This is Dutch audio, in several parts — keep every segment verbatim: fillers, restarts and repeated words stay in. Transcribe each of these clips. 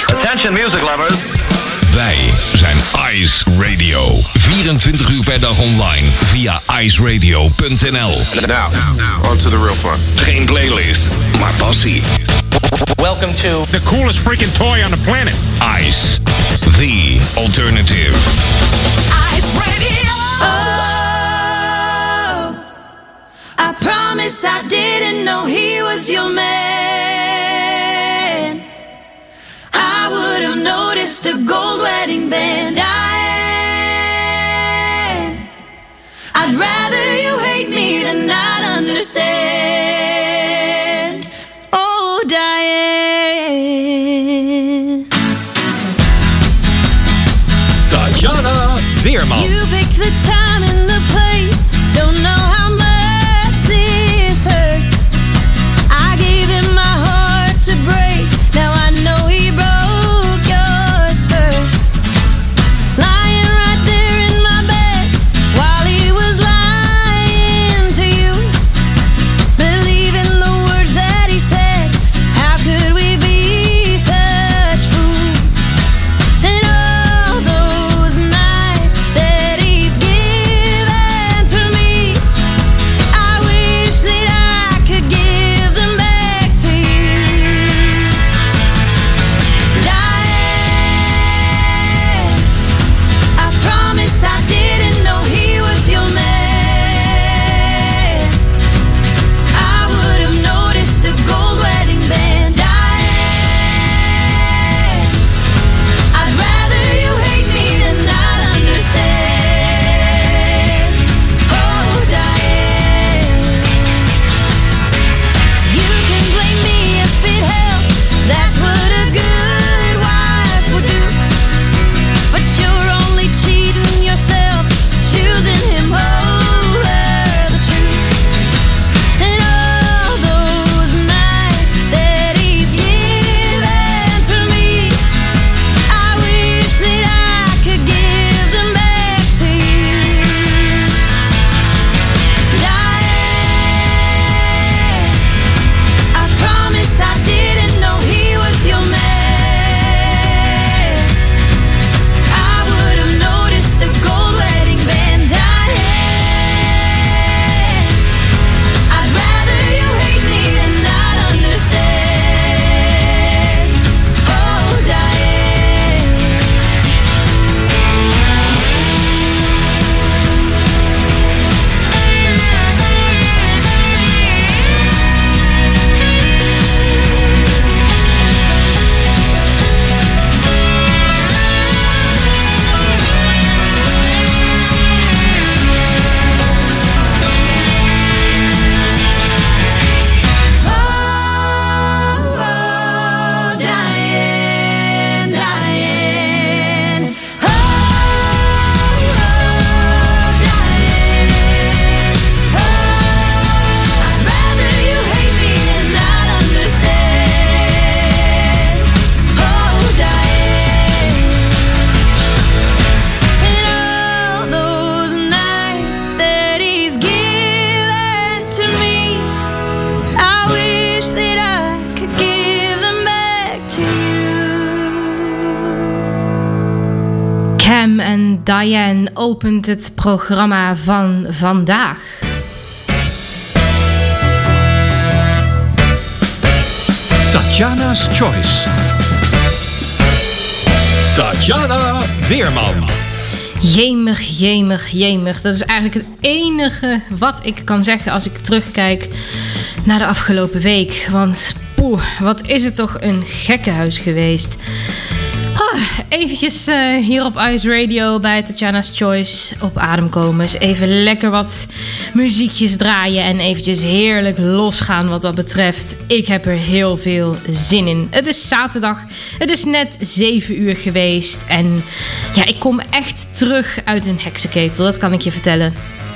Attention music lovers. Wij zijn Ice Radio. vierentwintig uur per dag online via ice radio punt n l. Now, on to the real fun. Geen playlist, maar passie. Welcome to the coolest freaking toy on the planet. Ice, the alternative. Ice Radio. Oh, I promise I didn't know he was your man. I would have noticed a gold wedding band. Diane, I'd rather you hate me than not understand. Oh, Diane. Tatjana Weerman. You picked the time and the place. Don't know how much this hurts. I gave him my heart to break. Now I know he broke yours first. Lying right there in my bed while he was lying to you, believing the words that he said. How could we be such fools? And all those nights that he's given to me, I wish that I could give them back to you. Diane, I promise I didn't know he was your man. I would have noticed a gold wedding band. Diane, I'd rather you hate me than not understand. Oh, Diane, you can blame me if it helps. That's what a good wife would do. But you're only cheating yourself, choosing him over the truth. And all those nights that he's given to me, I wish that I could give them back to you. Diane, I promise I didn't know he was your man. I would have noticed a gold wedding band. Diane, I'd rather you hate me than not understand. Oh, Diane. Oh, Diane, Diane. Oh, Diane. Oh, I'd rather you hate me than not understand. Oh, Diane. And all those nights that he's given to me, I wish that I could give them back to you. Cam en Diane opent het programma van vandaag. Tatjana's Choice. Tatjana Weerman. Jemig, jemig, jemig. Dat is eigenlijk het enige wat ik kan zeggen als ik terugkijk naar de afgelopen week. Want poeh, wat is het toch een gekkenhuis geweest. Ah, eventjes uh, hier op Ice Radio bij Tatjana's Choice op adem komen. Eens even lekker wat muziekjes draaien en eventjes heerlijk losgaan wat dat betreft. Ik heb er heel veel zin in. Het is zaterdag, het is net zeven uur geweest en ja, ik kom echt terug uit een heksenketel, dat kan ik je vertellen.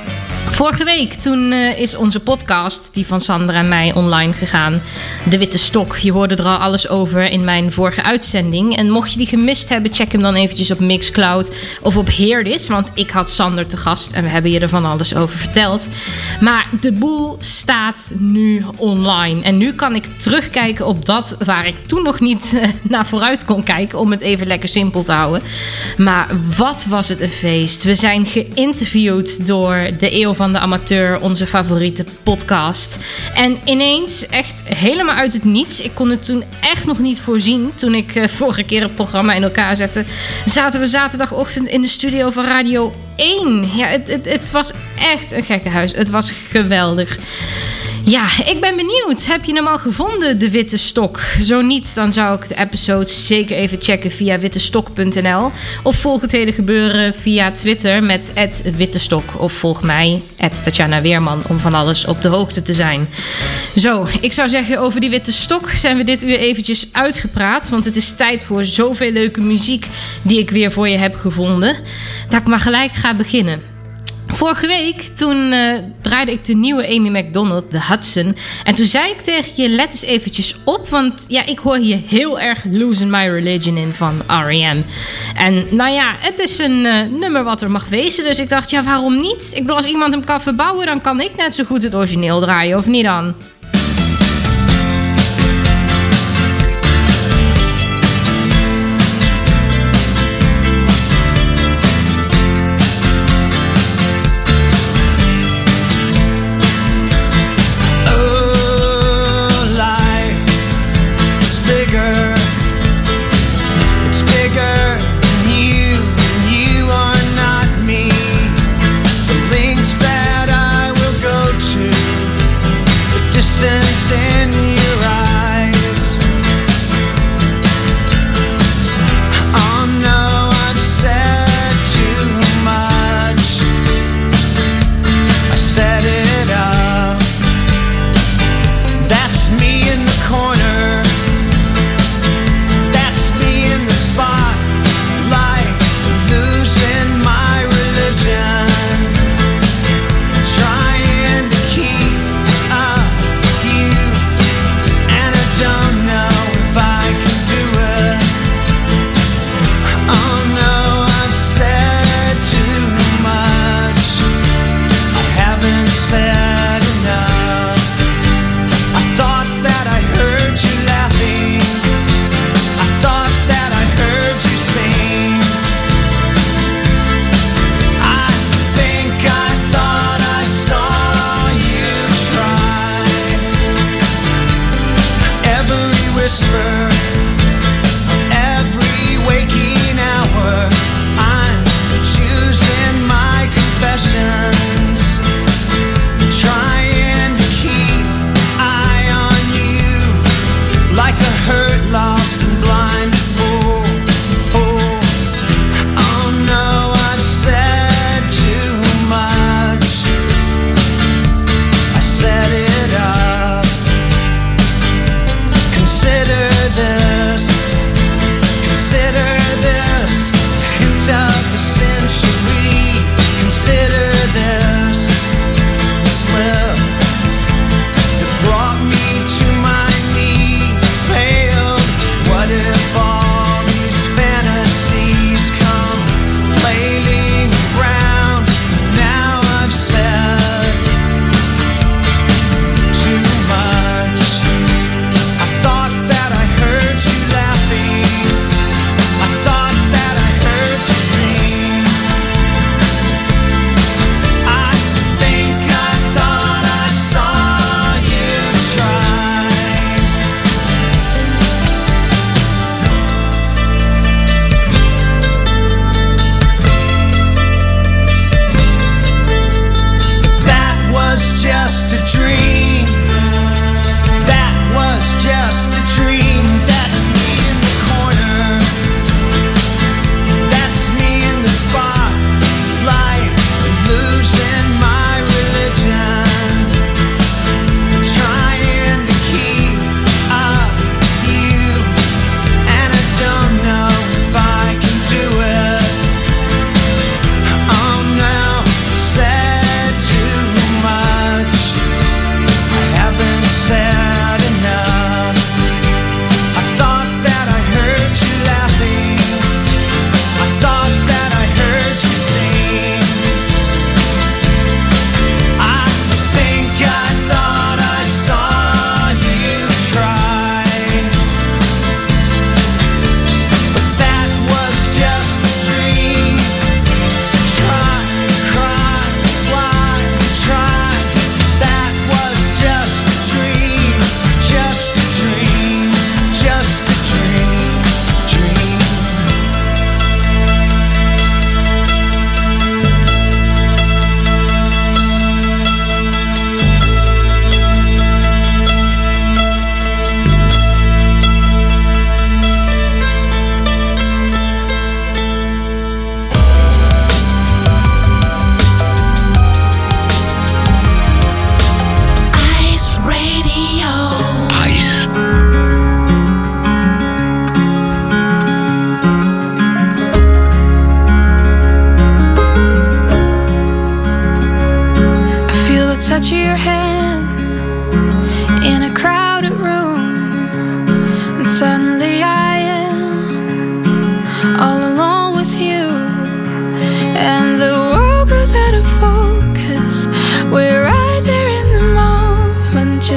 Vorige week toen uh, is onze podcast, die van Sander en mij, online gegaan. De Witte Stok. Je hoorde er al alles over in mijn vorige uitzending. En mocht je die gemist hebben, check hem dan eventjes op Mixcloud of op Hear This. Want ik had Sander te gast en we hebben je er van alles over verteld. Maar de boel staat nu online. En nu kan ik terugkijken op dat waar ik toen nog niet uh, naar vooruit kon kijken. Om het even lekker simpel te houden. Maar wat was het een feest. We zijn geïnterviewd door de Eeuw van de Amateur, onze favoriete podcast. En ineens, echt helemaal uit het niets, ik kon het toen echt nog niet voorzien, toen ik uh, vorige keer het programma in elkaar zette, zaten we zaterdagochtend in de studio van Radio één. Ja, het, het, het was echt een gekkenhuis. Het was geweldig. Ja, ik ben benieuwd. Heb je hem al gevonden, de Witte Stok? Zo niet, dan zou ik de episode zeker even checken via wittestok punt n l. Of volg het hele gebeuren via Twitter met at wittestok. Of volg mij, at Tatjana Weerman, om van alles op de hoogte te zijn. Zo, ik zou zeggen, over die Witte Stok zijn we dit uur eventjes uitgepraat. Want het is tijd voor zoveel leuke muziek die ik weer voor je heb gevonden. Dat ik maar gelijk ga beginnen. Vorige week, toen uh, draaide ik de nieuwe Amy Macdonald, The Hudson. En toen zei ik tegen je, let eens eventjes op. Want ja, ik hoor hier heel erg Losing My Religion in van R E M. En nou ja, het is een uh, nummer wat er mag wezen. Dus ik dacht, ja, waarom niet? Ik bedoel, als iemand hem kan verbouwen, dan kan ik net zo goed het origineel draaien, of niet dan?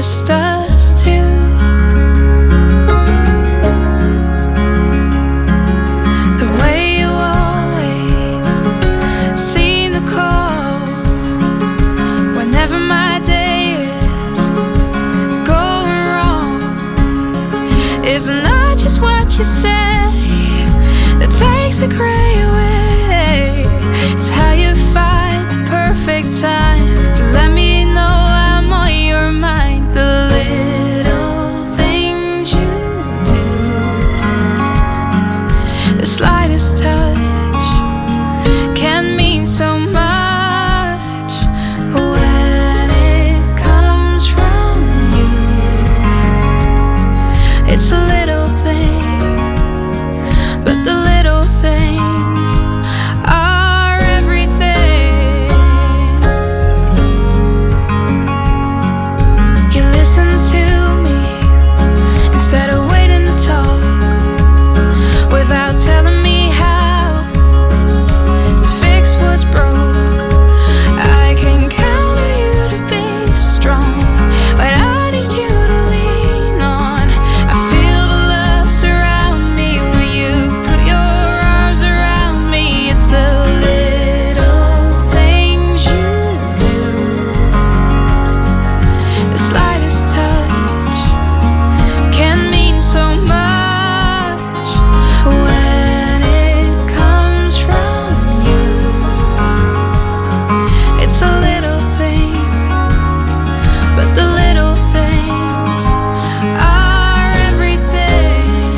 just us two. The way you always seem to call whenever my day is going wrong. It's not just what you say that takes the gray away. It's how you find the perfect time to let me know I'm on your mind. The little things you do, the slightest touch can mean so much when it comes from you. It's a little thing, but the little things are everything. You listen to me instead of waiting to talk, without telling me how to fix what's broke. I can count on you to be strong, but I need you to lean on. I feel the love surround me when you put your arms around me. It's the little things you do, the slightest touch can mean so much when it comes from you. It's a little thing, but the little things are everything.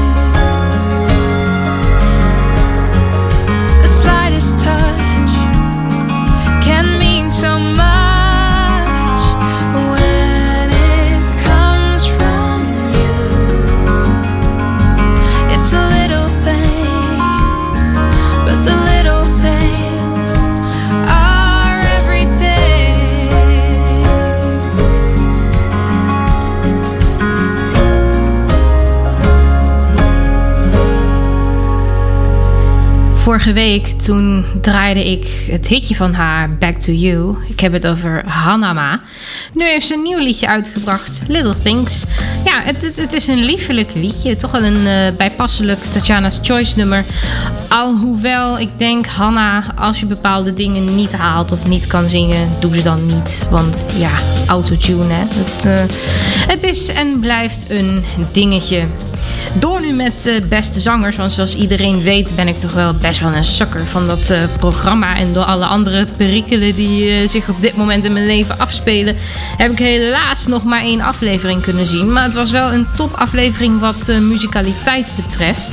The slightest touch can mean so much when it comes from you. It's a little thing, but the little things are everything. Vorige week toen draaide ik het hitje van haar, Back to You. Ik heb het over Hanama. Nu heeft ze een nieuw liedje uitgebracht, Little Things. Ja, het, het, het is een liefelijk liedje. Toch wel een uh, bijpasselijk Tatjana's Choice nummer. Alhoewel ik denk, Hanna, als je bepaalde dingen niet haalt of niet kan zingen, doe ze dan niet. Want ja, autotune, hè. Het, uh, het is en blijft een dingetje. Door nu met uh, beste zangers, want zoals iedereen weet ben ik toch wel best wel een sukker van dat uh, programma. En door alle andere perikelen die uh, zich op dit moment in mijn leven afspelen, heb ik helaas nog maar één aflevering kunnen zien. Maar het was wel een topaflevering wat uh, muzikaliteit betreft.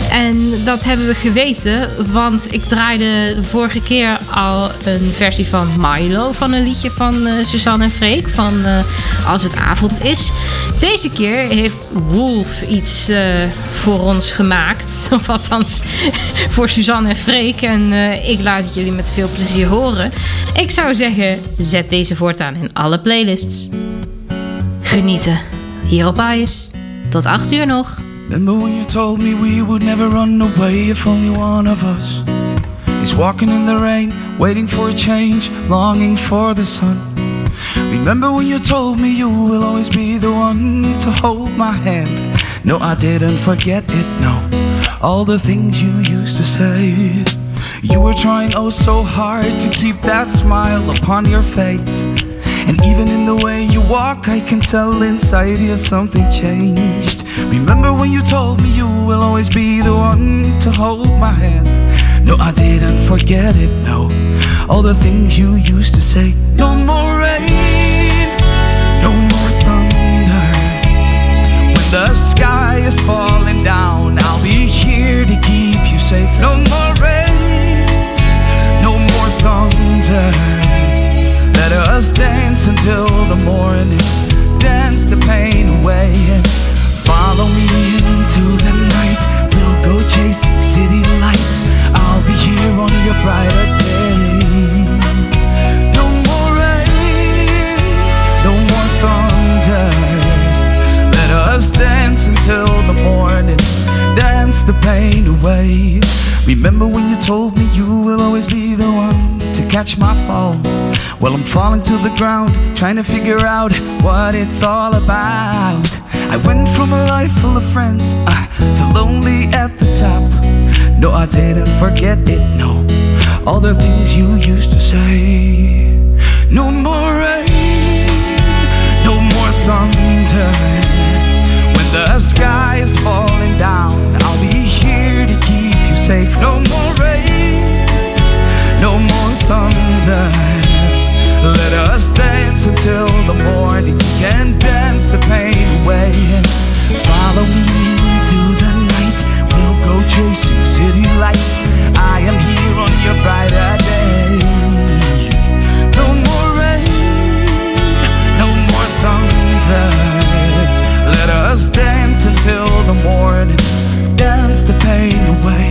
En dat hebben we geweten, want ik draaide de vorige keer al een versie van Milo van een liedje van uh, Suzanne en Freek, van uh, Als het avond is. Deze keer heeft Wolf iets uh, voor ons gemaakt, of althans voor Suzanne en Freek. En uh, ik laat het jullie met veel plezier horen. Ik zou zeggen, zet deze voortaan in alle playlists. Genieten, hier op Ice. Tot acht uur nog. Remember when you told me we would never run away if only one of us is walking in the rain, waiting for a change, longing for the sun. Remember when you told me you will always be the one to hold my hand. No, I didn't forget it, no. All the things you used to say. You were trying oh so hard to keep that smile upon your face. And even in the way you walk, I can tell inside you something changed. Remember when you told me you will always be the one to hold my hand. No, I didn't forget it, no. All the things you used to say. No more rain, no more thunder. When the sky is falling down, I'll be here to keep you safe. No more rain, no more thunder. Let us dance until the morning, dance the pain away. Follow me into the night, we'll go chasing city lights. I'll be here on your brighter day. No more rain, no more thunder. Let us dance until the morning, dance dance the pain away. Remember when you told me you will always be the one to catch my fall? Well, I'm falling to the ground, trying to figure out what it's all about. I went from a life full of friends uh, to lonely at the top. No, I didn't forget it, no. All the things you used to say. No more rain, no more thunder. When the sky is falling down, I'll be here to keep you safe. No more rain, no more thunder. Let us dance until the morning and dance the pain away. Follow me into the night, we'll go chasing city lights. I am here on your brighter day. No more rain, no more thunder. Let us dance until the morning, dance the pain away.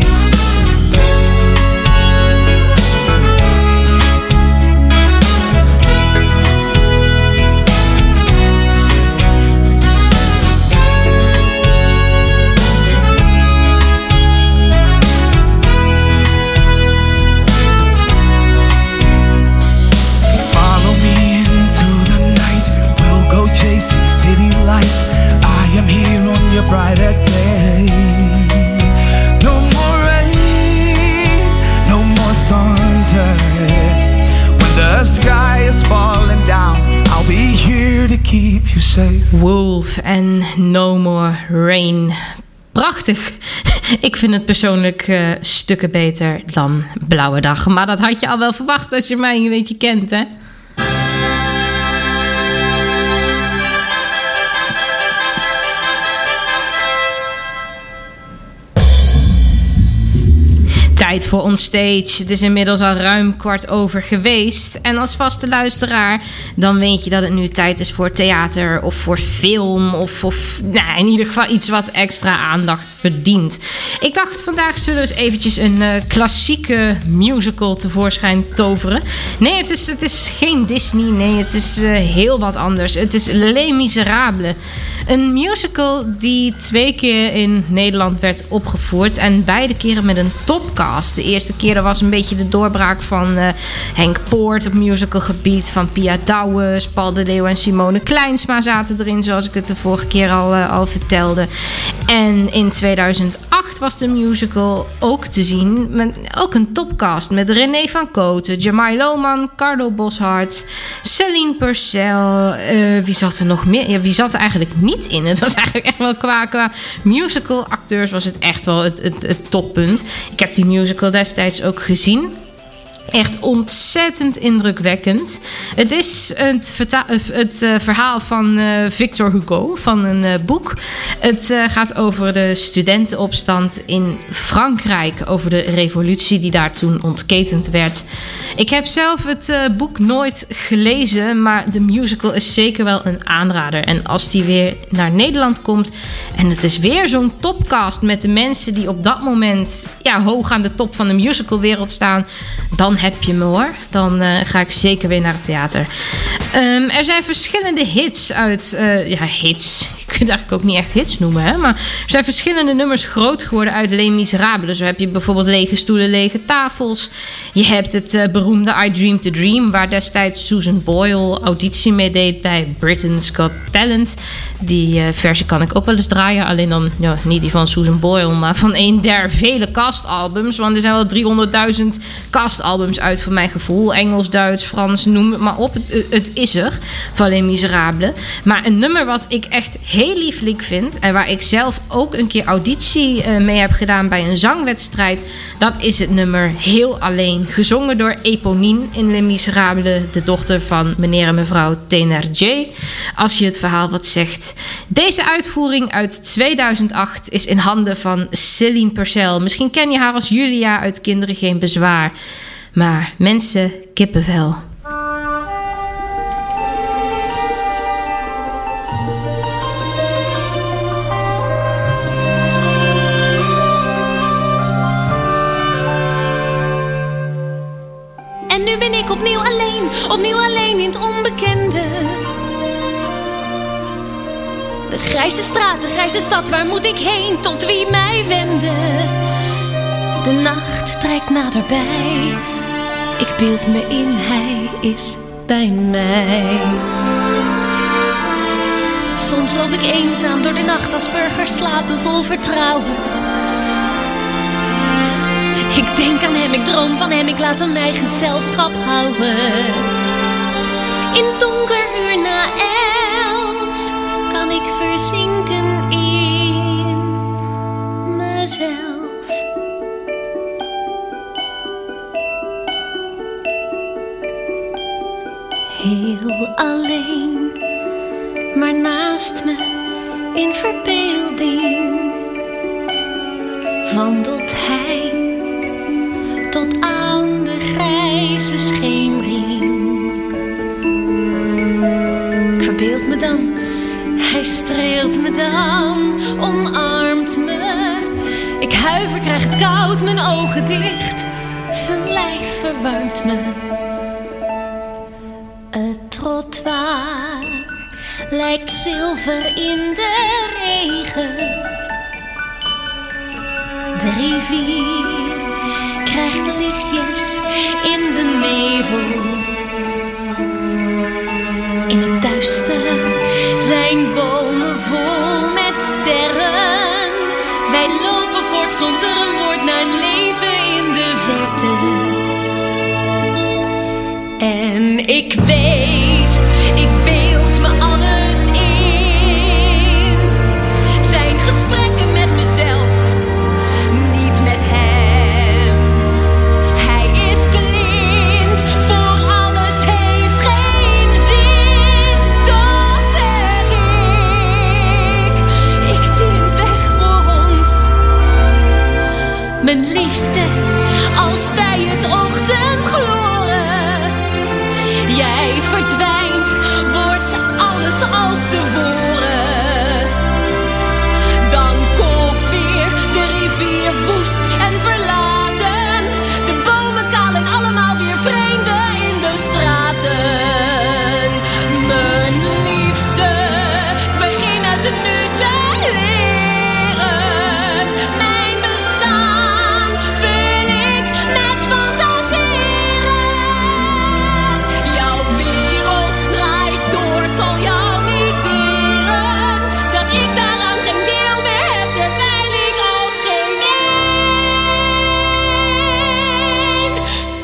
Brighter day. No more rain, no more thunder. When the sky is falling down, I'll be here to keep you safe. Wolf en No More Rain. Prachtig. Ik vind het persoonlijk uh, stukken beter dan Blauwe Dag. Maar dat had je al wel verwacht als je mij een beetje kent, hè? Tijd voor Onstage. Het is inmiddels al ruim kwart over geweest. En als vaste luisteraar, dan weet je dat het nu tijd is voor theater of voor film. Of, of nou, in ieder geval iets wat extra aandacht verdient. Ik dacht, vandaag zullen we eens eventjes een uh, klassieke musical tevoorschijn toveren. Nee, het is, het is geen Disney. Nee, het is uh, heel wat anders. Het is Les Miserables. Een musical die twee keer in Nederland werd opgevoerd. En beide keren met een topcast. De eerste keer dat was een beetje de doorbraak van uh, Henk Poort op musicalgebied. Van Pia Douwes, Paul de Leeuw en Simone Kleinsma zaten erin. Zoals ik het de vorige keer al, uh, al vertelde. En in tweeduizend acht was de musical ook te zien. Met ook een topcast. Met René van Kooten, Jamai Lohman, Carlo Boszhard, Celine Purcell. Uh, wie zat er nog meer? Ja, wie zat er eigenlijk niet in? Het was eigenlijk echt wel qua, qua musical acteurs was het echt wel het, het, het toppunt. Ik heb die musical destijds ook gezien. Echt ontzettend indrukwekkend. Het is het, verta- het uh, verhaal van uh, Victor Hugo, van een uh, boek. Het uh, gaat over de studentenopstand in Frankrijk. Over de revolutie die daar toen ontketend werd. Ik heb zelf het uh, boek nooit gelezen, maar de musical is zeker wel een aanrader. En als die weer naar Nederland komt en het is weer zo'n topcast met de mensen die op dat moment ja, hoog aan de top van de musicalwereld staan, dan heb je me hoor. Dan uh, ga ik zeker weer naar het theater. Um, er zijn verschillende hits uit... Uh, ja, hits. Je kunt het eigenlijk ook niet echt hits noemen, hè. Maar er zijn verschillende nummers groot geworden uit Les Miserables. Zo heb je bijvoorbeeld Lege Stoelen, Lege Tafels. Je hebt het uh, beroemde I Dream to Dream, waar destijds Susan Boyle auditie mee deed bij Britain's Got Talent. Die uh, versie kan ik ook wel eens draaien. Alleen dan ja, niet die van Susan Boyle, maar van een der vele castalbums. Want er zijn wel driehonderdduizend castalbums uit voor mijn gevoel. Engels, Duits, Frans, noem het maar op. Het, het is er, van Les Miserables. Maar een nummer wat ik echt heel lieflijk vind en waar ik zelf ook een keer auditie uh, mee heb gedaan bij een zangwedstrijd, dat is het nummer Heel Alleen. Gezongen door Eponine in Les Miserables, de dochter van meneer en mevrouw Thénardier. Als je het verhaal wat zegt. Deze uitvoering uit tweeduizend acht is in handen van Celine Purcell. Misschien ken je haar als Julia uit Kinderen Geen Bezwaar. Maar mensen, kippenvel. En nu ben ik opnieuw alleen, opnieuw alleen in het onbekende. De grijze straat, de grijze stad, waar moet ik heen? Tot wie mij wenden? De nacht trekt naderbij. Ik beeld me in, hij is bij mij. Soms loop ik eenzaam door de nacht als burgers slapen vol vertrouwen. Ik denk aan hem, ik droom van hem, ik laat aan mij gezelschap houden. In donker uur na elf kan ik verzinken in mezelf. Heel alleen, maar naast me in verbeelding wandelt hij tot aan de grijze schemering. Ik verbeeld me dan, hij streelt me dan, omarmt me. Ik huiver, krijg het koud, mijn ogen dicht, zijn lijf verwarmt me. Het trottoir lijkt zilver in de regen. De rivier krijgt lichtjes in de nevel. In het duister zijn bomen vol met sterren. Wij lopen voort zonder een woord naar een leven in de verte. En ik weet, ik beeld me alles in. Zijn gesprekken met mezelf, niet met hem. Hij is blind, voor alles, het heeft geen zin. Toch zeg ik, ik zie een weg voor ons. Mijn liefste, als bij het ochtendgloren. Jij verdwijnt, wordt alles als tevoren. Dan kookt weer de rivier woest en verlaten. De bomen kaal en allemaal weer vreemden in de straten. Mijn liefste, ik begin uit het nu te leren. Mijn bestaan vul ik met fantaseren. Jouw wereld draait door, het zal jou niet deren. Dat ik daaraan geen deel meer heb, terwijl ik als geen één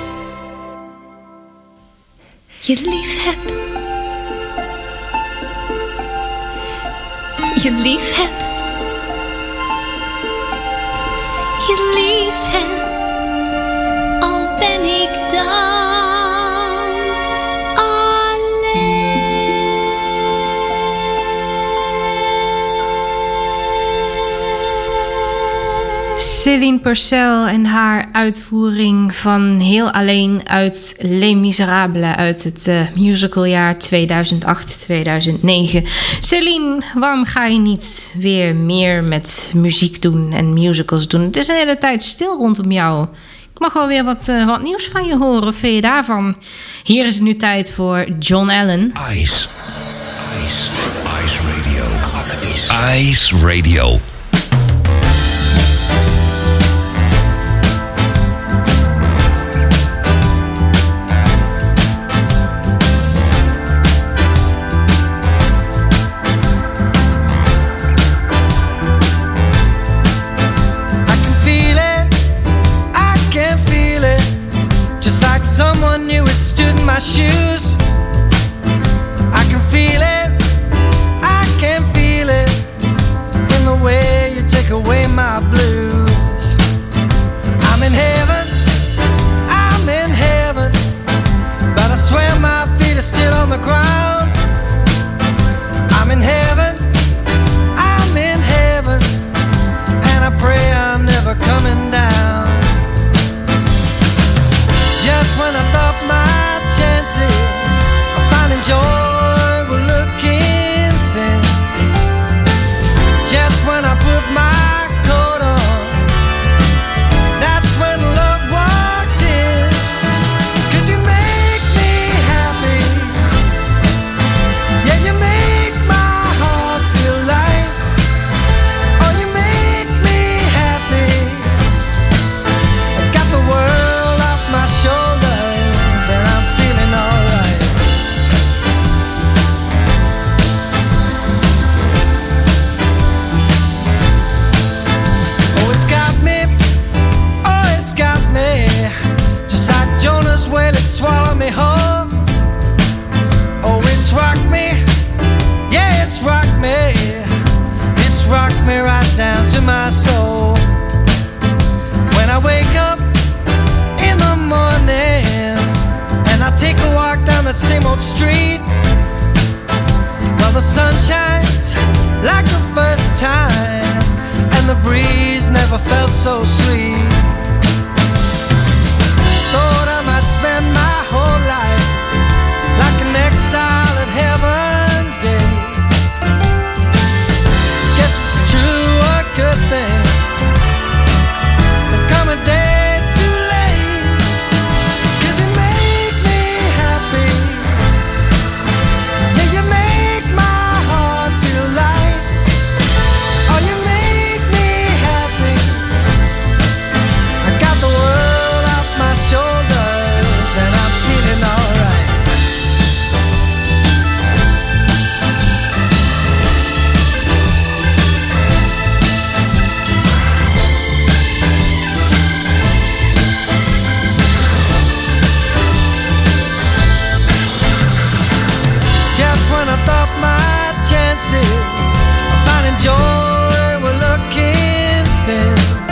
je lief heb. Je lief heb. Je lief heb. Al ben ik dan Céline Purcell en haar uitvoering van Heel Alleen uit Les Miserables uit het uh, musicaljaar tweeduizend acht tweeduizend negen. Céline, waarom ga je niet weer meer met muziek doen en musicals doen? Het is een hele tijd stil rondom jou. Ik mag wel weer wat, uh, wat nieuws van je horen. Wat vind je daarvan? Hier is het nu tijd voor John Allen. Ice. Ice. Ice Radio. Ice Radio. Someone new has stood in my shoes. I can feel it, I can feel it in the way you take away my blues. I'm in heaven, I'm in heaven, but I swear my feet are still on the ground. I'm in heaven, I'm in heaven, and I pray I'm never coming down. Just when I thought my chances of finding joy were looking thin, just when I put my coat on, that's when love walked in. 'Cause you make me happy, yeah, you make my heart feel light. me right down to my soul. When I wake up in the morning and I take a walk down that same old street, well, the sun shines like the first time, and the breeze never felt so sweet. Thought I might spend my whole life like an exile at heaven's gate. Guess it's true, a good thing. There come a day too late, 'cause you make me happy. Yeah, you make my heart feel light. Oh, you make me happy. I got the world off my shoulders and I'm feeling alright. Just when I thought my chances of finding joy were looking thin,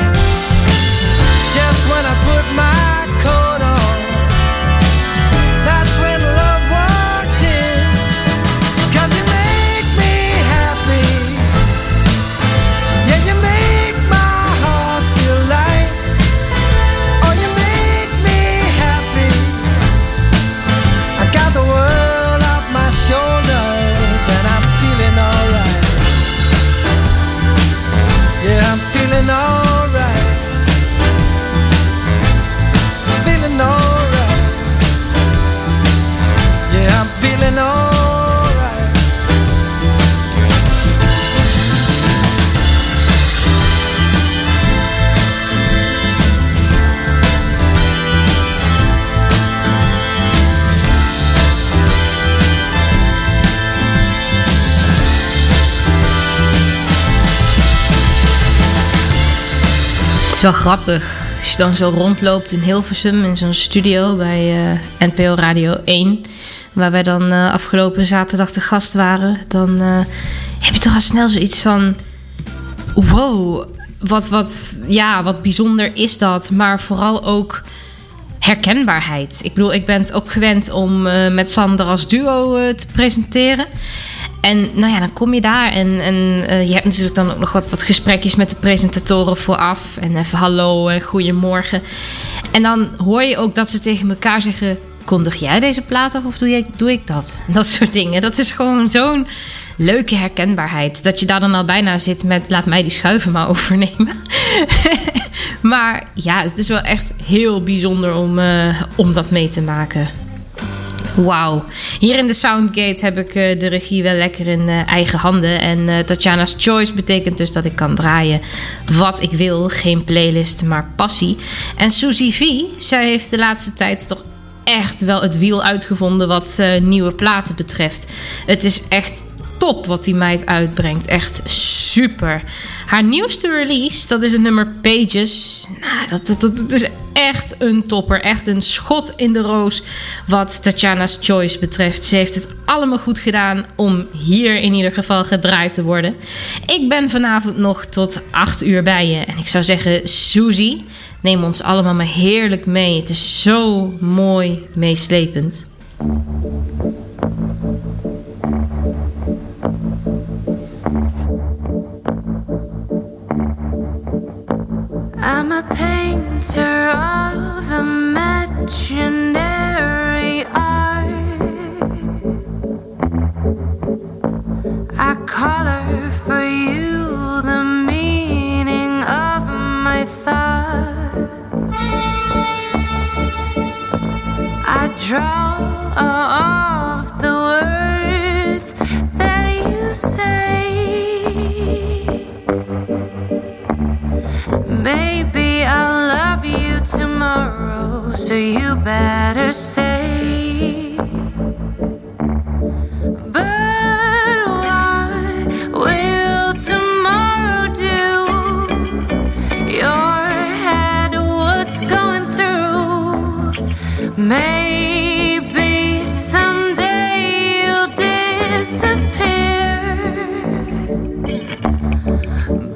just when I put my coat on, that's when love walked in. 'Cause you make me happy. Yeah, you make my heart feel light. Oh, you make me happy. I got the world off my shoulders and I'm feeling alright. Yeah, I'm feeling alright. Feeling alright. Yeah, I'm feeling alright. Het is wel grappig als je dan zo rondloopt in Hilversum in zo'n studio bij uh, N P O Radio één, waar wij dan uh, afgelopen zaterdag de gast waren. Dan uh, heb je toch al snel zoiets van: wow, wat, wat, ja, wat bijzonder is dat. Maar vooral ook herkenbaarheid. Ik bedoel, ik ben het ook gewend om uh, met Sander als duo uh, te presenteren. En nou ja, dan kom je daar en, en uh, je hebt natuurlijk dan ook nog wat, wat gesprekjes met de presentatoren vooraf. En even hallo en goedemorgen. En dan hoor je ook dat ze tegen elkaar zeggen: kondig jij deze plaat af of doe, je, doe ik dat? En dat soort dingen. Dat is gewoon zo'n leuke herkenbaarheid. Dat je daar dan al bijna zit met: laat mij die schuiven maar overnemen. Maar ja, het is wel echt heel bijzonder om, uh, om dat mee te maken. Wauw. Hier in de Soundgate heb ik uh, de regie wel lekker in uh, eigen handen. En uh, Tatjana's Choice betekent dus dat ik kan draaien wat ik wil. Geen playlist, maar passie. En Suzy V, zij heeft de laatste tijd toch echt wel het wiel uitgevonden wat uh, nieuwe platen betreft. Het is echt top wat die meid uitbrengt. Echt super. Haar nieuwste release, dat is het nummer Pages. Nou, dat, dat, dat, dat is echt een topper. Echt een schot in de roos wat Tatjana's Choice betreft. Ze heeft het allemaal goed gedaan om hier in ieder geval gedraaid te worden. Ik ben vanavond nog tot acht uur bij je. En ik zou zeggen, Suzy, neem ons allemaal maar heerlijk mee. Het is zo mooi meeslepend. I'm a painter of imaginary art. I color for you the meaning of my thoughts. I draw off the words that you say. Baby, I'll love you tomorrow, so you better stay. But what will tomorrow do? Your head, what's going through? Maybe someday you'll disappear.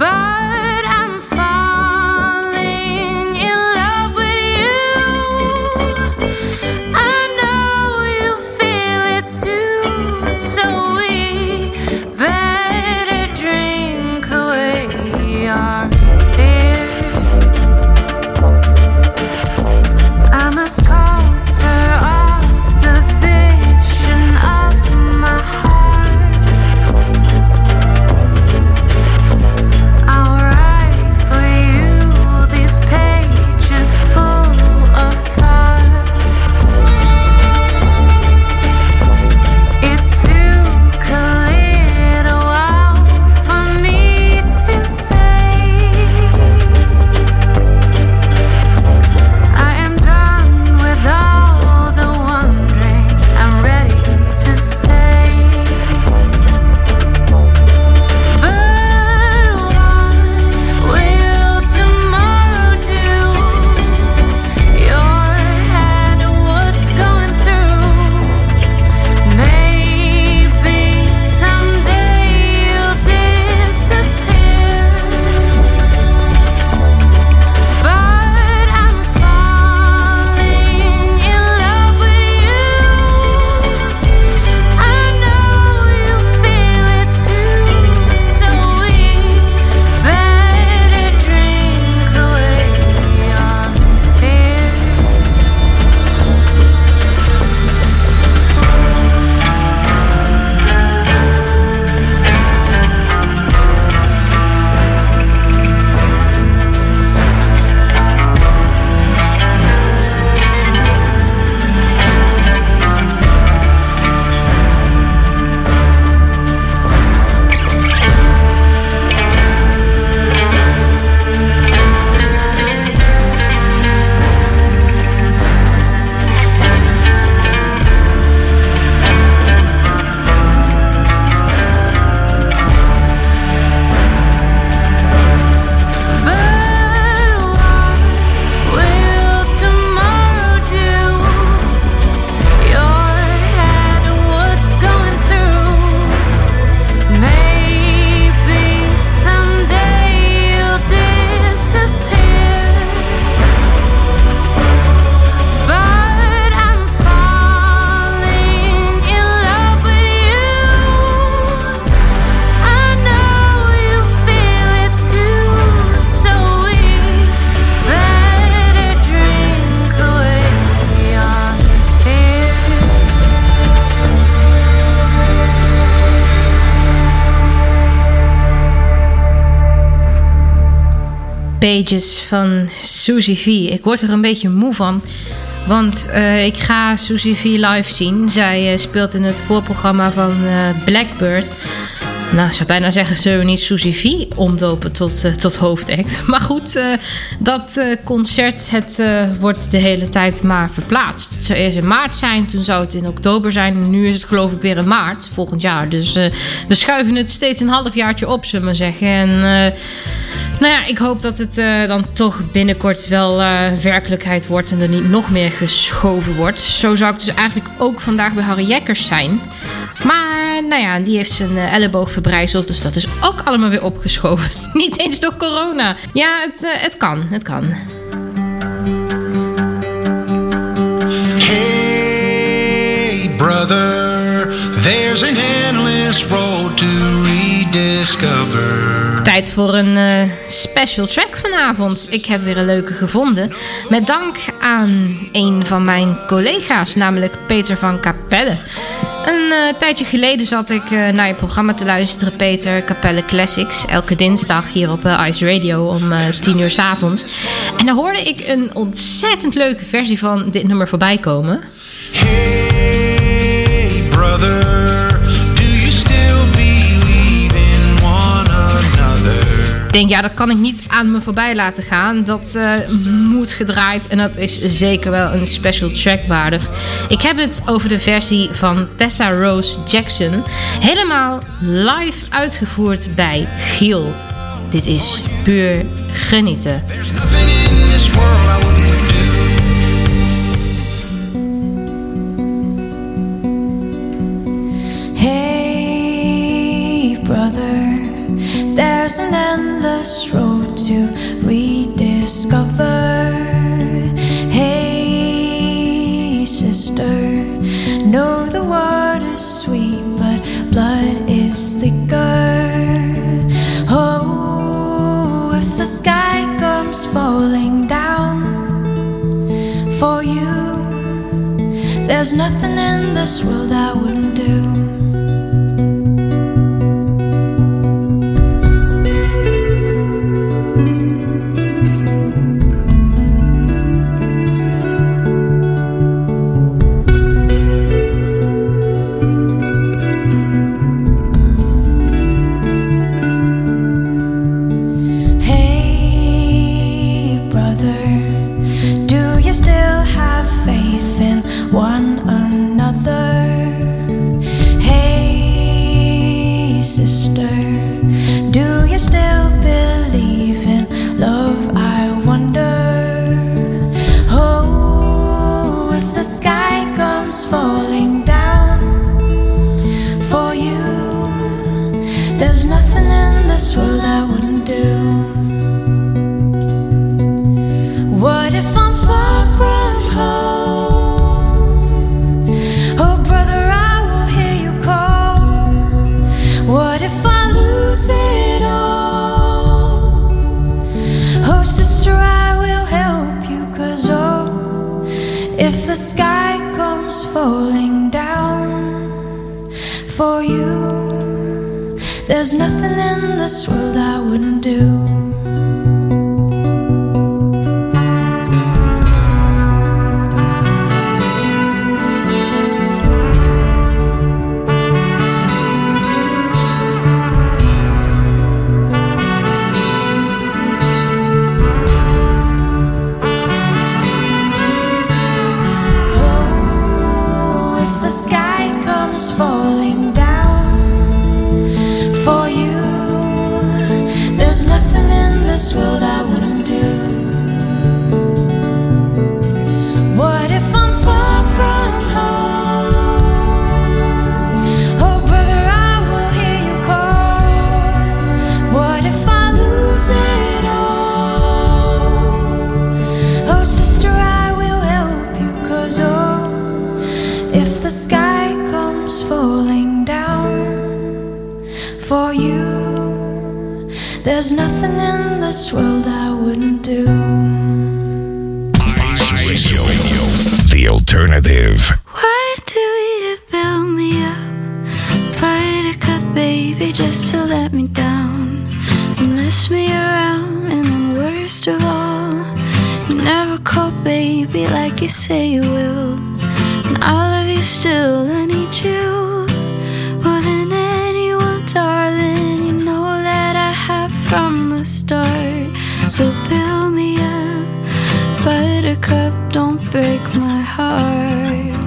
Pages van Susie V. Ik word er een beetje moe van. Want uh, ik ga Susie V live zien. Zij uh, speelt in het voorprogramma van uh, Blackbird. Nou, ik zou bijna zeggen, zullen we niet Susie V omdopen tot, uh, tot hoofdact. Maar goed, uh, dat uh, concert het, uh, wordt de hele tijd maar verplaatst. Het zou eerst in maart zijn, toen zou het in oktober zijn. En nu is het geloof ik weer in maart, volgend jaar. Dus uh, we schuiven het steeds een halfjaartje op, zullen we maar zeggen. En uh, nou ja, ik hoop dat het uh, dan toch binnenkort wel uh, werkelijkheid wordt en er niet nog meer geschoven wordt. Zo zou ik dus eigenlijk ook vandaag bij Harry Jekkers zijn. Maar nou ja, die heeft zijn uh, elleboog verbrijzeld, dus dat is ook allemaal weer opgeschoven. Niet eens door corona. Ja, het, uh, het kan, het kan. Hey brother, there's an endless road to rediscover. Tijd voor een uh, special track vanavond. Ik heb weer een leuke gevonden. Met dank aan een van mijn collega's, namelijk Peter van Capelle. Een uh, tijdje geleden zat ik uh, naar je programma te luisteren, Peter, Capelle Classics. Elke dinsdag hier op uh, Ice Radio om uh, tien uur 's avonds. En daar hoorde ik een ontzettend leuke versie van dit nummer voorbij komen. Hey brother, do you still believe in one another? Ik denk, ja, dat kan ik niet aan me voorbij laten gaan. Dat uh, moet gedraaid en dat is zeker wel een special track waardig. Ik heb het over de versie van Tessa Rose Jackson. Helemaal live uitgevoerd bij Giel. Dit is puur genieten. There's nothing in this world I wouldn't do. Hey brother, there's an endless road to rediscover. Hey sister, know the word is sweet, but blood is thicker. Oh, if the sky comes falling down for you, there's nothing in this world I wouldn't do. One another. Hey sister, do you still believe in love, I wonder? Oh, if the sky comes falling down for you, there's nothing in this world I wouldn't do. What if I'm far from home? It all. Oh sister, I will help you, 'cause oh, if the sky comes falling down for you, there's nothing in this world I wouldn't do. Falling down for you, there's nothing in this world I wouldn't do. What if I'm far from home? Oh brother, I will hear you call. What if I lose it all? Oh sister, I will help you, 'cause oh, if the sky comes falling down for you, there's nothing in this world I wouldn't do. Ice Radio, the alternative. Why do you build me up, buttercup baby, just to let me down? You mess me around and then worst of all, you never call baby like you say you will. And I love you still, I need you more than anyone, darling. You know that I have from the start. So build me up, buttercup, don't break my heart.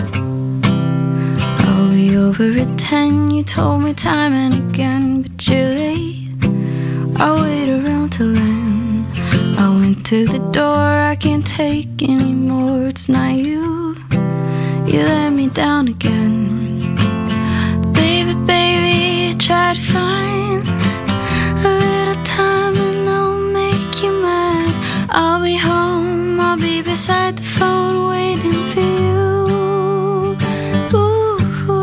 I'll be over at ten, you told me time and again, but you're late, I'll wait around till then. I went to the door, I can't take anymore. It's not you, you let me down again. Baby, baby, I try to find a little time and I'll make you mine. I'll be home, I'll be beside the phone waiting for you. Ooh,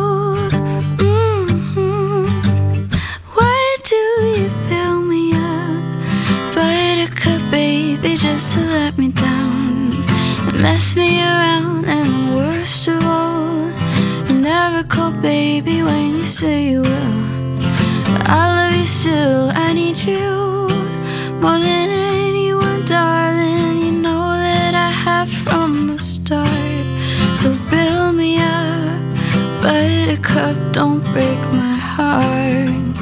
mm-hmm. Why do you build me up, buttercup, baby, just to let me down and mess me around? And worst of all, you never call baby when you say you will. But I love you still, I need you more than anyone, darling. You know that I have from the start. So build me up, buttercup, don't break my heart.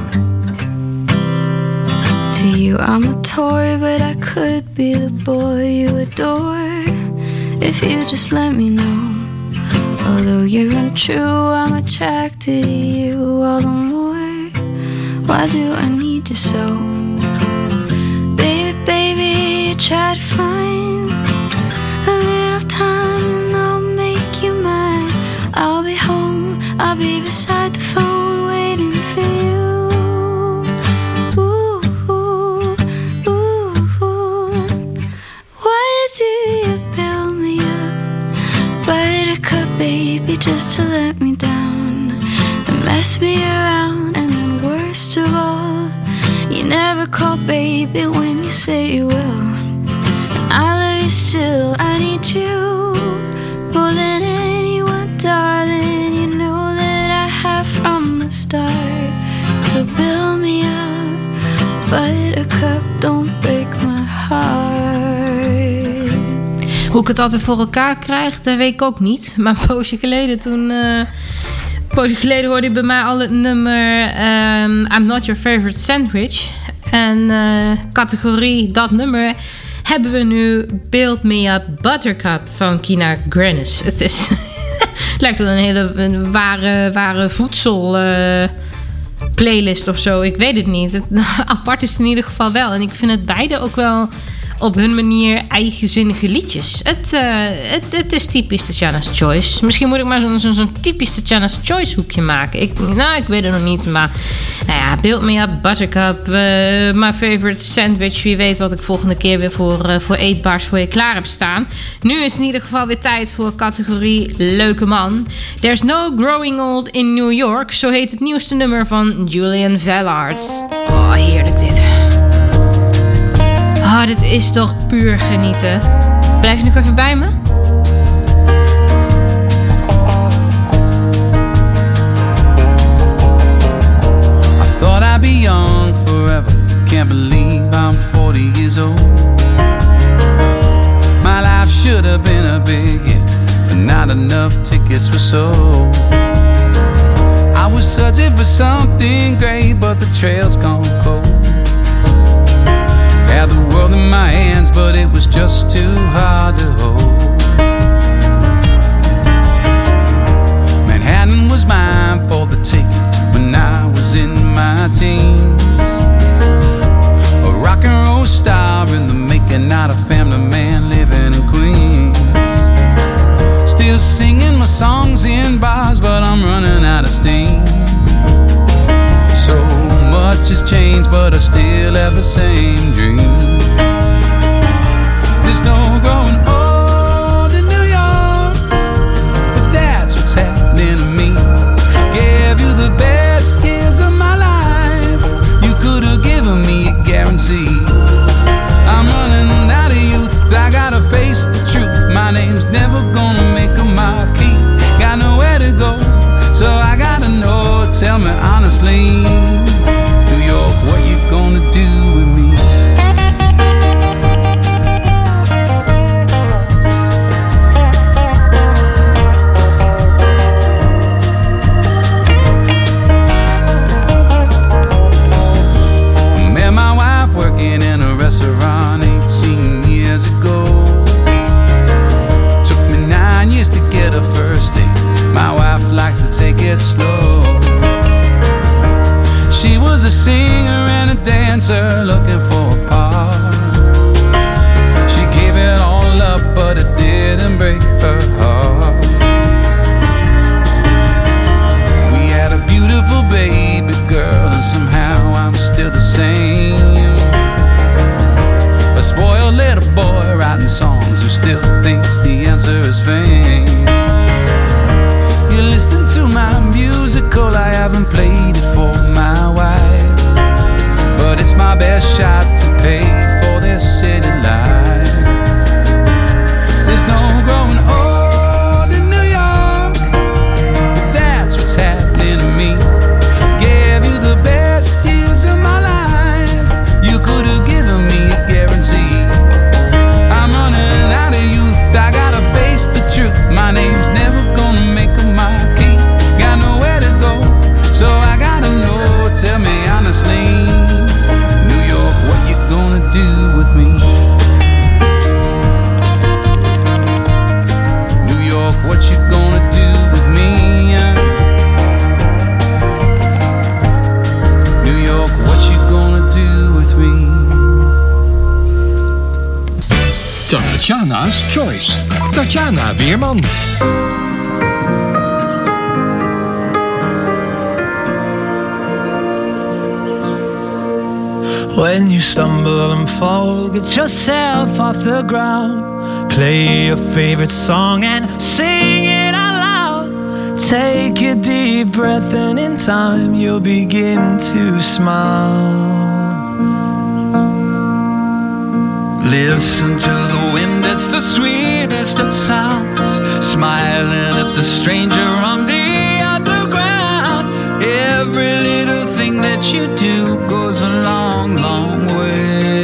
To you I'm a toy, but I could be the boy you adore if you just let me know. Although you're untrue, I'm attracted to you all the more. Why do I need you so? Baby, baby, you try to find a little time and I'll make you mine. I'll be home, I'll be beside the phone waiting for you. Ooh, ooh, ooh, ooh. Why do you build me up, buttercup, baby, just to let me down and mess me around? And then worst of all, you never call baby when you say you will. And I love you still, I need you more than anyone, darling. You know that I have from the start. So build me up, buttercup, don't break my heart. Hoe ik het altijd voor elkaar krijg, dat weet ik ook niet. Maar een poosje geleden toen... Uh, een poosje geleden hoorde je bij mij al het nummer um, I'm Not Your Favorite Sandwich. En uh, categorie dat nummer hebben we nu Build Me Up Buttercup van Kina Grannis. Het is... het lijkt wel een hele een ware, ware voedsel... Uh, playlist of zo. Ik weet het niet. Het, apart is het in ieder geval wel. En ik vind het beide ook wel op hun manier eigenzinnige liedjes. Het, uh, het, het is typisch Tatjana's Choice. Misschien moet ik maar zo'n, zo'n, zo'n typisch Tatjana's Choice hoekje maken. Ik, nou, ik weet het nog niet. Maar nou ja, Build Me Up, Buttercup, uh, My Favorite Sandwich. Wie weet wat ik volgende keer weer voor, uh, voor eetbaars voor je klaar heb staan. Nu is het in ieder geval weer tijd voor categorie Leuke Man. There's No Growing Old in New York. Zo heet het nieuwste nummer van Julian Velard. Oh, heerlijk dit. Oh, dit is toch puur genieten. Blijf je nog even bij me? I thought I'd be young forever. Can't believe I'm forty years old. My life should have been a big hit, but not enough tickets were sold. I was searching for something great, but the trail's gone cold. Had the world in my hands, but it was just too hard to hold. Manhattan was mine for the taking when I was in my teens. A rock and roll star in the making, not a family man living in Queens. Still singing my songs in bars, but I'm running out of steam. So much has changed, but I still have the same dream. There's no growing old in New York, but that's what's happening to me. Gave you the best years of my life, you could have given me a guarantee. I'm running out of youth, I gotta face the truth. My name's never gonna make a marquee. Got nowhere to go, so I gotta know, tell me honestly, New York, what you gonna do with me? slow. She was a singer and a dancer looking for a part. She gave it all up, but it didn't break her heart. We had a beautiful baby girl, and somehow I'm still the same. A spoiled little boy writing songs who still thinks the answer is fame. You listen to my musical, I haven't played it for my wife, but it's my best shot to pay for this city life. There's no growing old in New York, but that's what's happening to me. Gave you the best years of my life, you could have given me a guarantee. I'm running out of youth, I gotta face the truth. My name's never gonna make a marquee. Got nowhere to go, so I gotta know. Tell me honestly, New York, what you gonna do with me? New York, what you gonna do with me? New York, what you gonna do with me? Tatjana's Choice. Tatjana Weerman. When you stumble and fall, get yourself off the ground. Play your favorite song and sing it out loud. Take a deep breath and in time you'll begin to smile. Listen to the wind, it's the sweetest of sounds. Smiling at the stranger on the underground. Every little thing that you do goes a long, long way.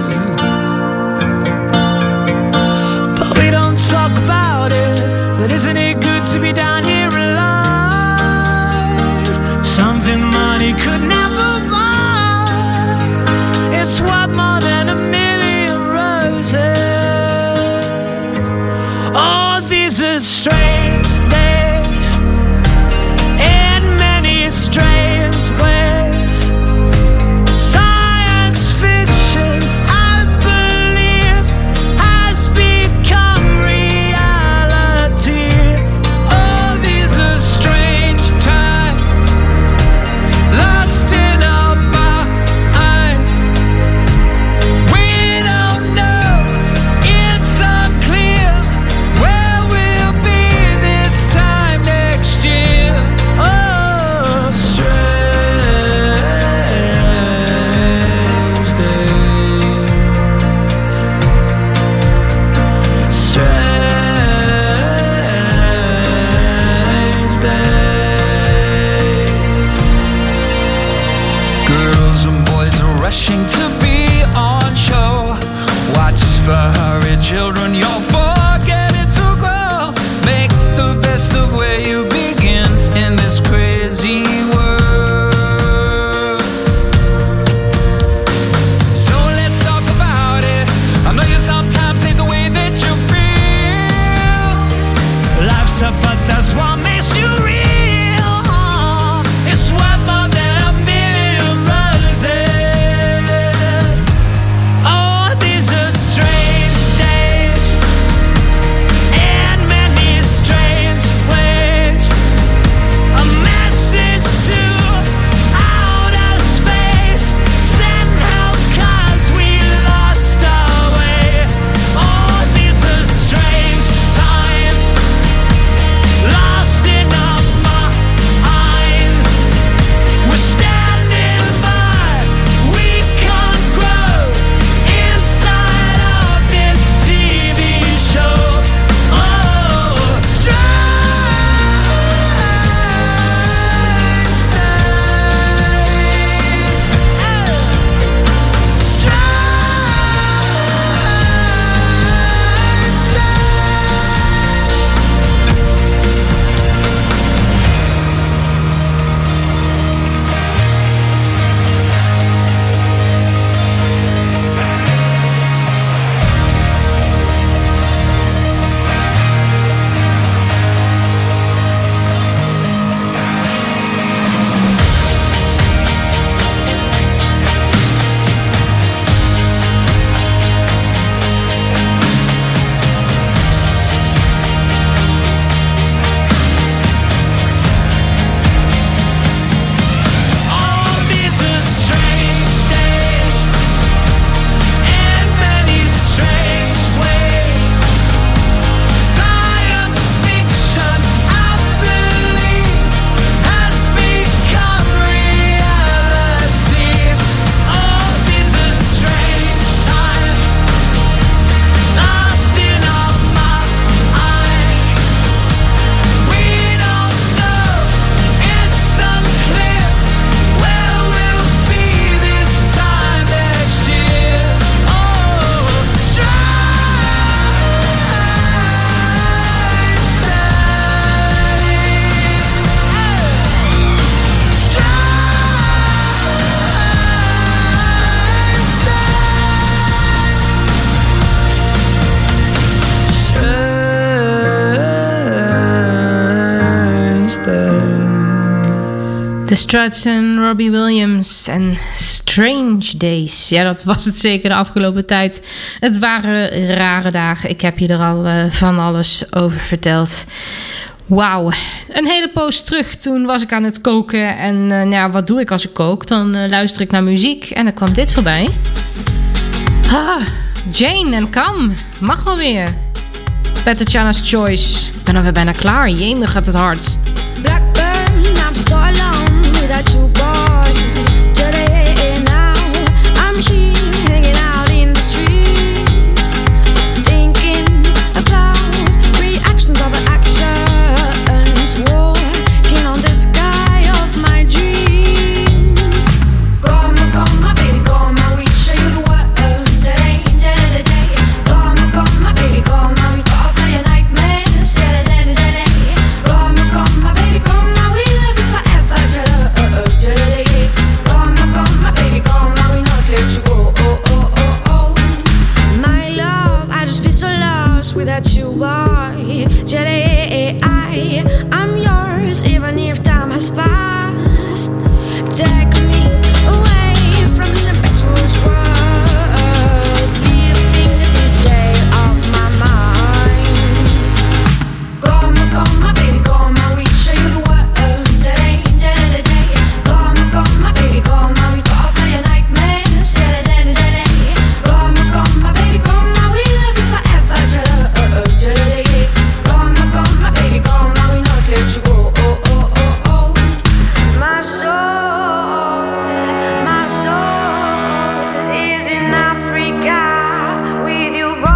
But we don't talk about it, but isn't it good to be down here alive? Something money could never buy. It's worth more than a million roses. Oh, these are strange days in many strange ways. Science fiction, I believe, has become reality. Oh, these are strange times, lost in our minds. We don't know, it's unclear where we'll be The Struts en Robbie Williams en Strange Days. Ja, dat was het zeker de afgelopen tijd. Het waren rare dagen. Ik heb je er al uh, van alles over verteld. Wauw. Een hele poos terug, toen was ik aan het koken. En uh, nou ja, wat doe ik als ik kook? Dan uh, luister ik naar muziek en dan kwam dit voorbij. Ah, Jane en Cam. Mag wel weer. Bij Tatjana's Choice. Ik ben alweer bijna klaar. Jee, gaat het hard. Blackburn, I'm so alone without you, boy. Today now, I'm here hanging out in the streets, thinking about reactions of the actions, walking on the sky of my dreams. Come on, come on, baby, come on, we show you the world today, today, today. Come on, come on, baby, come on, we go for your nightmares today, today, today. Come on, come on, baby, come on, we love you forever today, today. Come on, come on, baby, come on, we not let you go. Oh, oh, oh, oh. My love, I just feel so lost without you, boy. Today, I, I'm yours, even if time has passed. Take me away from this impetuous world, leaving this jail of my mind. Come on, come on, baby, come on, we show you the world today, today, today. Come on, come on, baby, come on, we go for your nightmares today, today, today. Come on, come on, baby, come on, we love you forever today, today. Come on, come on, baby, come on, we not let you go. Oh, oh, oh, oh. My soul, my soul is in Africa with you, boy.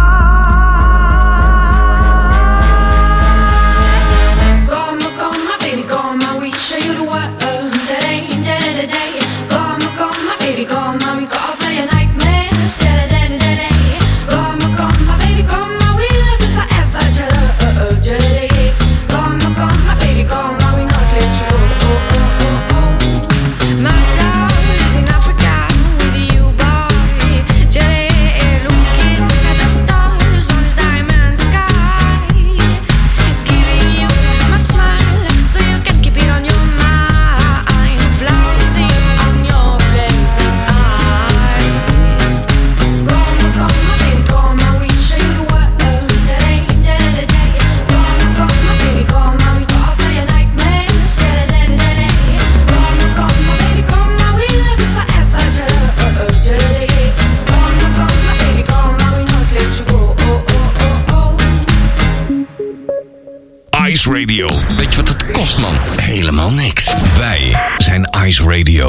Come on, come on, baby, come on, we show you the world today, today, today. Come on, come on, baby, come on, we go for your nightmares today, today, today. Come on, come on, baby, come on, we love you forever today, today. Come on, come on, baby, come on, we not let you go. Oh, oh, oh, oh. My soul is in Africa with you, boy. Today, looking at the stars on this diamond sky, giving you my smile so you can keep it on your mind, floating on your blazing eyes. Come on, come on, baby, come on, we show you the world today, today, today. Come on, come on, baby, come on, we go for your nightmares today, today, today. Come on, come on, baby, come on, we love you forever today, today. Come on, come on, baby, come on, we not let you go. Oh, oh, oh, oh. Ice Radio. Weet je wat het kost, man? Helemaal niks. Wij zijn Ice Radio.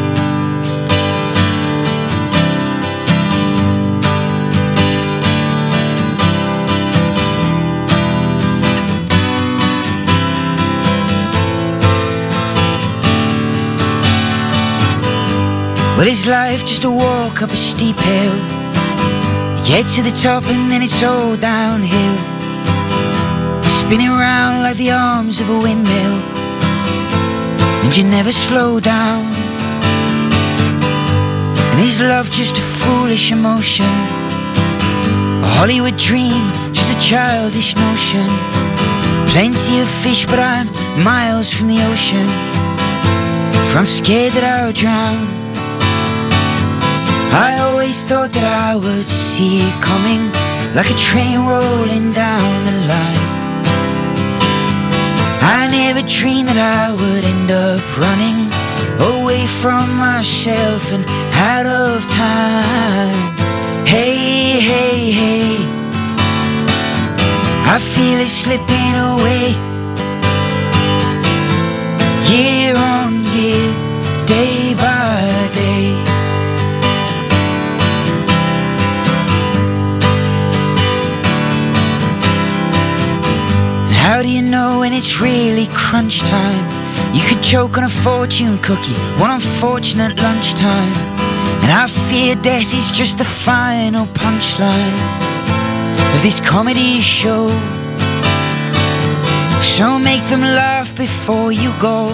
Well, is life just a walk up a steep hill? You get to the top and then it's all downhill, spinning round like the arms of a windmill, and you never slow down. And is love just a foolish emotion, a Hollywood dream, just a childish notion? Plenty of fish, but I'm miles from the ocean, for I'm scared that I'll drown. I always thought that I would see it coming, like a train rolling down the line. I never dreamed that I would end up running away from myself and out of time. Hey, hey, hey, I feel it slipping away, year on year, day by day. How do you know when it's really crunch time? You could choke on a fortune cookie one unfortunate lunchtime, and I fear death is just the final punchline of this comedy show. So make them laugh before you go.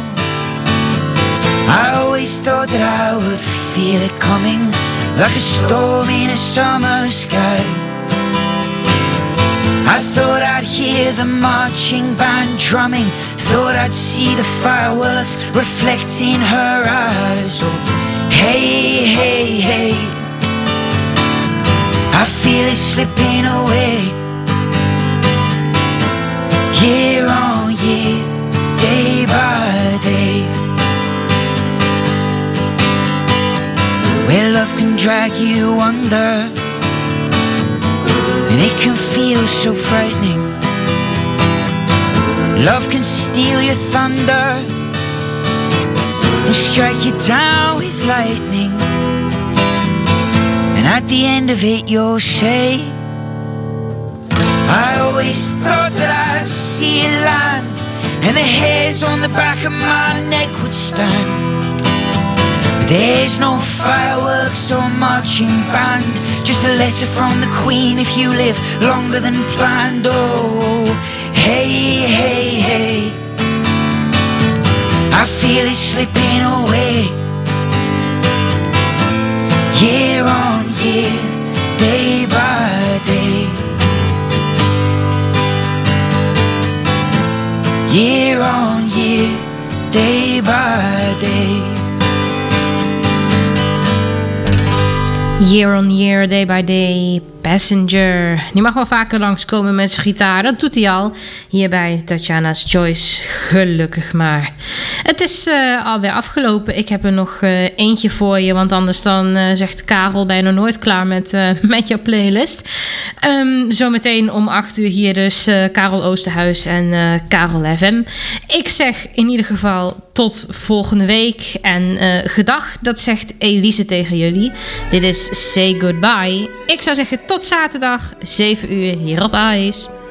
I always thought that I would feel it coming, like a storm in a summer sky. I thought I'd hear the marching band drumming thought I'd see the fireworks reflect in her eyes. Oh, hey, hey, hey, I feel it slipping away. Year on year, day by day, where love can drag you under, and it can feel so frightening. Love can steal your thunder and strike you down with lightning, and at the end of it you'll say, I always thought that I'd see it land, and the hairs on the back of my neck would stand. But there's no fireworks or marching band, just a letter from the Queen if you live longer than planned. Oh, hey, hey, hey, I feel it slipping away. Year on year, day by day, year on year, day by day. Year on year, day by day, Passenger. Die mag wel vaker langskomen met zijn gitaar. Dat doet hij al. Hier bij Tatjana's Choice. Gelukkig maar. Het is uh, alweer afgelopen. Ik heb er nog uh, eentje voor je. Want anders dan uh, zegt Karel bijna nooit klaar met, uh, met jouw playlist. Um, zometeen om acht uur hier dus uh, Karel Oosterhuis en uh, Karel F M. Ik zeg in ieder geval tot volgende week. En uh, gedag, dat zegt Elise tegen jullie. Dit is Say Goodbye. Ik zou zeggen tot zaterdag, zeven uur hier op Ice.